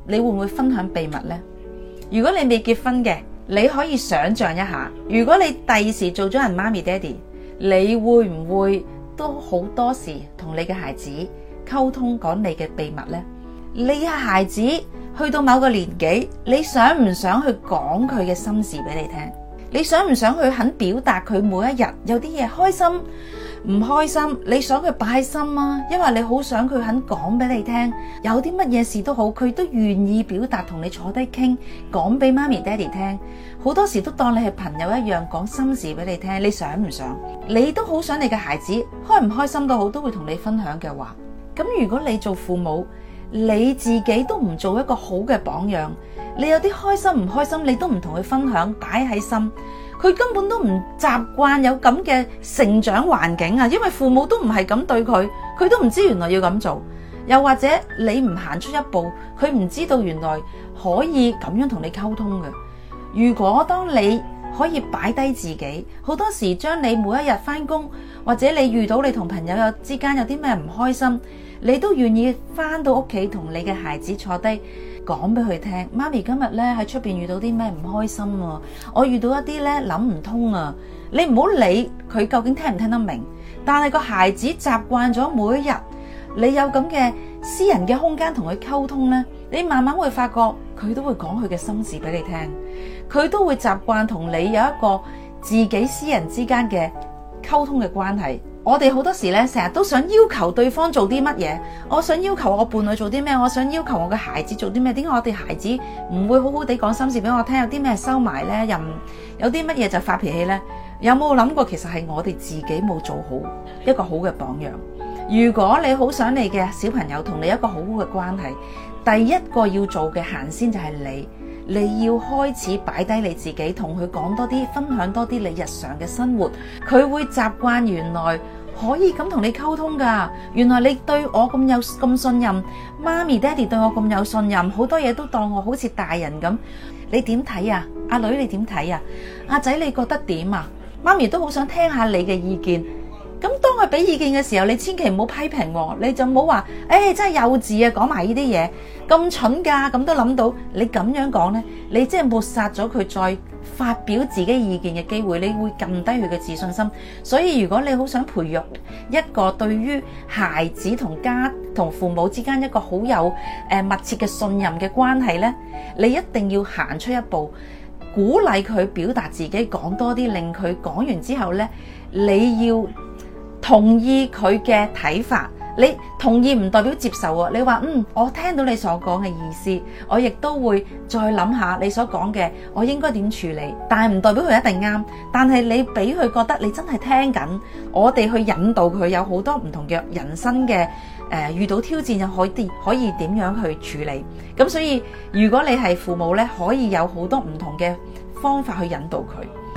你會唔會分享秘密呢？如果你未結婚嘅，你可以想象一下，如果你第時做咗人媽咪爹哋，你會唔會都好多時同你嘅孩子溝通講你嘅秘密呢？你嘅孩子去到某個年紀，你想唔想去講佢嘅心事俾你聽？你想唔想去肯表達佢每一日有啲嘢開心唔開心？你想佢擺心啊，因為你好想佢肯講俾你聽，有啲乜嘢事都好，佢都願意表達，同你坐低傾，講俾媽咪爹哋聽。好多時都當你係朋友一樣，講心事俾你聽。你想唔想？你都好想你嘅孩子開唔開心都好，都會同你分享嘅話，咁如果你做父母，你自己都唔做一個好嘅榜樣，你有啲開心唔開心，你都唔同佢分享，擺喺心，佢根本都唔習慣有咁嘅成長環境啊，因為父母都唔係咁對佢，佢都唔知原來要咁做。又或者你唔行出一步，佢唔知道原來可以咁樣同你溝通嘅。如果當你可以擺低自己，好多時將你每一日返工，或者你遇到你同朋友之間有啲咩唔開心，你都願意返到屋企同你嘅孩子坐低講俾佢聽。媽咪今日咧喺出邊遇到啲咩唔開心啊，我遇到一啲咧諗唔通啊。你唔好理佢究竟聽唔聽得明，但係個孩子習慣咗每一日你有咁嘅私人嘅空間同佢溝通咧，你慢慢會發覺佢都會講佢嘅心事俾你聽，佢都會習慣同你有一個自己私人之間嘅溝通嘅關係。我哋好多時咧成日都想要求對方做啲乜嘢，我想要求我伴侶做啲咩，我想要求我嘅孩子做啲咩。點解我哋孩子唔會好好地講心事俾我聽？有啲咩收埋呢？又有啲乜嘢就發脾氣呢？有冇諗過其實係我哋自己冇做好一個好嘅榜樣？如果你好想你嘅小朋友同你一個好好嘅關係，第一個要做嘅行先就係你要開始擺低你自己，同佢講多啲，分享多啲你日常嘅生活，佢會習慣原來可以咁同你溝通噶。原來你對我咁信任，媽咪爹哋對我咁有信任，好多嘢都當我好似大人咁。你點睇啊？阿女你點睇啊？阿仔你覺得點啊？媽咪都好想聽下你嘅意見。咁當佢俾意見嘅時候，你千祈唔好批評，你就唔好話真係幼稚啊，講埋呢啲嘢咁蠢噶，咁都諗到。你咁樣講呢，你即係抹殺咗佢再發表自己意見嘅機會，你會撳低佢嘅自信心。所以如果你好想培育一個對於孩子同父母之間一個好有密切嘅信任嘅關係呢，你一定要行出一步，鼓勵佢表達自己，講多啲，令佢講完之後呢，你要同意佢嘅睇法。你同意唔代表接受喎。你話我聽到你所講嘅意思，我亦都會再諗下你所講嘅，我應該點處理。但係唔代表佢一定啱，但係你俾佢覺得你真係聽緊，我哋去引導佢有好多唔同嘅人生嘅遇到挑戰又可以點樣去處理。咁所以如果你係父母呢，可以有好多唔同嘅方法去引導佢。